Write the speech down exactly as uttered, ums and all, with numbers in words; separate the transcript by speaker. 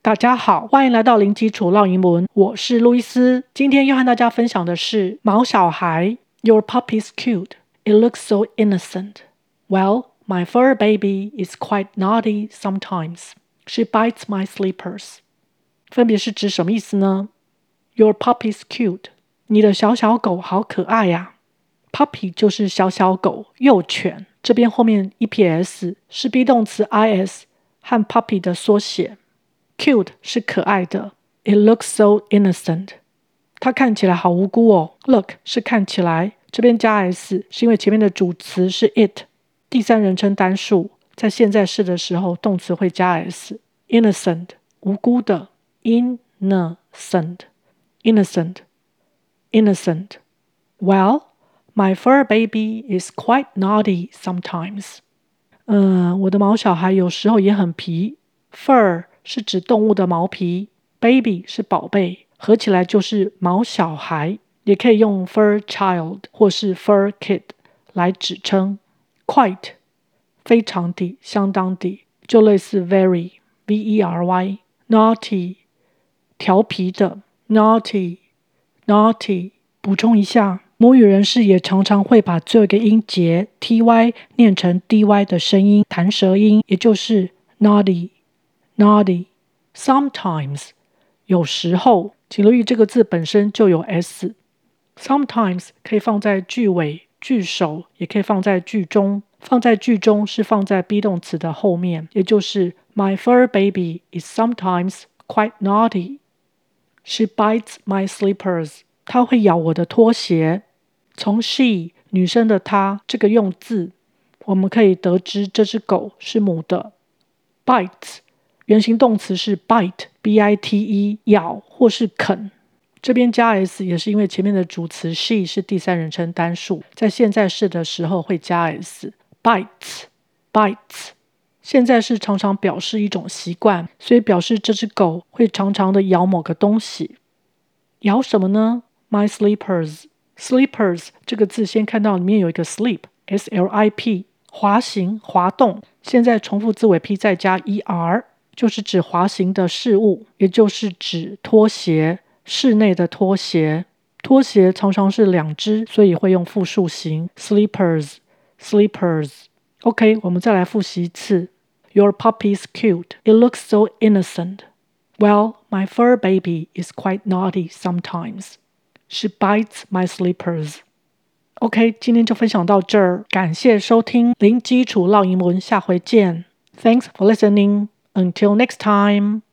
Speaker 1: 大家好，歡迎來到零基礎繞英文，我是路易斯。今天要和大家分享的是毛小孩。Your puppy's cute. It looks so innocent. Well, my fur baby is quite naughty sometimes. She bites my slippers. 分別是指什麼意思呢？ Your puppy's cute. 你的小小狗好可愛呀、啊。Puppy 就是小小狗、幼犬。這邊後面 E P S 是 be 動詞 is 和 puppy 的縮寫。Cute 是可愛的 It looks so innocent 它看起來好無辜哦 Look 是看起來這邊加 s 是因為前面的主詞是 it 第三人稱單數在現在式的時候動詞會加 s Innocent 無辜的 Innocent Innocent Innocent Well, my fur baby is quite naughty sometimes 嗯，我的毛小孩有時候也很皮 Fur是指動物的毛皮 ，baby 是寶貝，合起來就是毛小孩，也可以用 fur child 或是 fur kid 來指稱。Quite 非常的、相當的，就類似 very v e r y naughty 調皮的 naughty naughty。補充一下，母語人士也常常會把最後一個音節 ty 念成 dy 的聲音，彈舌音，也就是 naughty。Naughty, sometimes 有時候，請留意這個字本身就有 s。Sometimes 可以放在句尾、句首，也可以放在句中。放在句中是放在 be 動詞的後面，也就是 My fur baby is sometimes quite naughty. She bites my slippers. 她會咬我的拖鞋。從 she 女生的她這個用字，我們可以得知這隻狗是母的。Bites原形動詞是 bite, b i t e 咬或是啃，這邊加 s 也是因為前面的主詞 she 是第三人稱單數，在現在式的時候會加 s。bites, bites， 現在式常常表示一種習慣，所以表示這隻狗會常常的咬某個東西。咬什麼呢？ My slippers, slippers 這個字先看到裡面有一個 slip, s l i p， 滑行、滑動，現在重複字尾 p 再加 er。就是指滑行的事物，也就是指拖鞋，室內的拖鞋。拖鞋常常是兩隻，所以會用複數形 slippers, slippers。OK， 我們再來複習一次。Your puppy's cute. It looks so innocent. Well, my fur baby is quite naughty sometimes. She bites my slippers. OK， 今天就分享到這兒，感謝收聽零基礎繞英文，下回見。Thanks for listening.Until next time.